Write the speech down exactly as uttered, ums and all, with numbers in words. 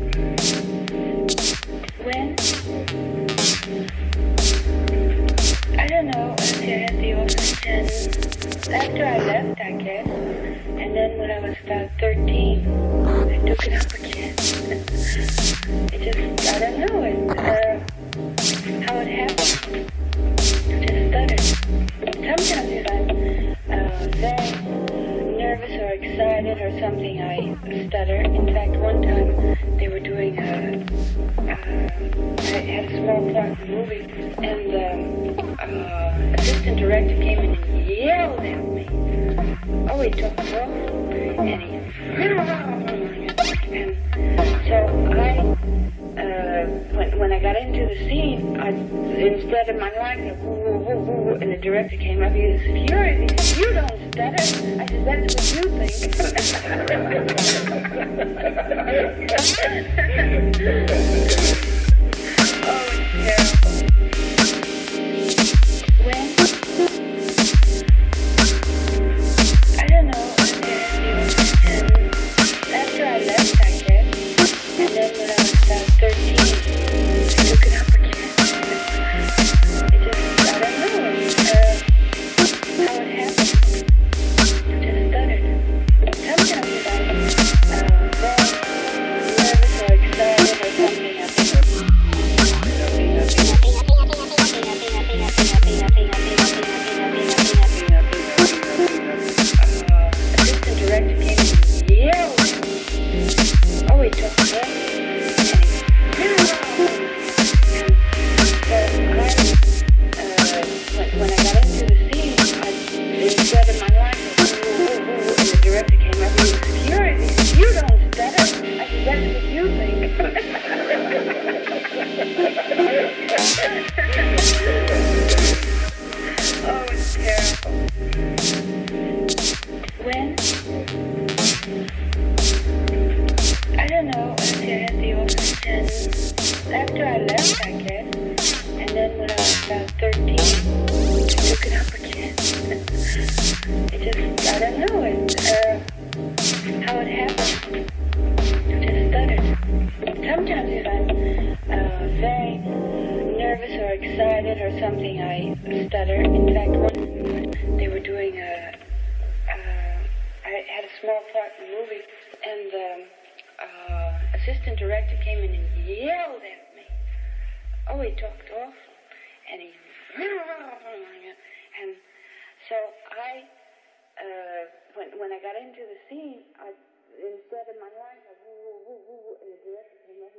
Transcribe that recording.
When? I don't know, until I had the office, and after I left, I guess, and then when I was about thirteen, I took it up again. It just, I don't know, it, uh, how it happened. I just stuttered. Sometimes if I'm uh, very nervous or excited or something, I stutter. In fact, one time they were doing a, uh, I had a small part in the movie, and the uh, assistant director came in and yelled at me. Oh, he took off, and he, and so I, uh, when, when I got into the scene, I, instead of my line, woo, woo, woo, woo, and the director came up, he was furious. He said, "You don't stutter." I said, "That's what you think." Oh, it's terrible. When? I don't know. And after I left, I guess, and then when I was about thirteen, I took it up again. It just, I don't know, uh, how it happened. I just stuttered. Sometimes if I'm uh, very nervous or excited or something, I think, assistant director came and yelled at me. Oh, he took it up. When I got into the scene, I, instead of my line, woo, woo, woo, and the director came up, he was furious. He said, "You don't stutter." I said, "That's what you think." Oh, it's terrible. When? I don't know, until I had the office, and after I left, I guess, and then when I was about thirteen, I took it up again. It just, I don't know, it, uh, how it happened. I just stuttered. Sometimes if I'm uh, very nervous or excited or something, I stutter. In fact, one they were doing a, uh, I had a small part in the movie, and the uh, assistant director came in and yelled at me. Oh, he talked off, and he, and so I, uh, when when I got into the scene, I, instead of my line, I woo, woo, woo, woo, and the director came up,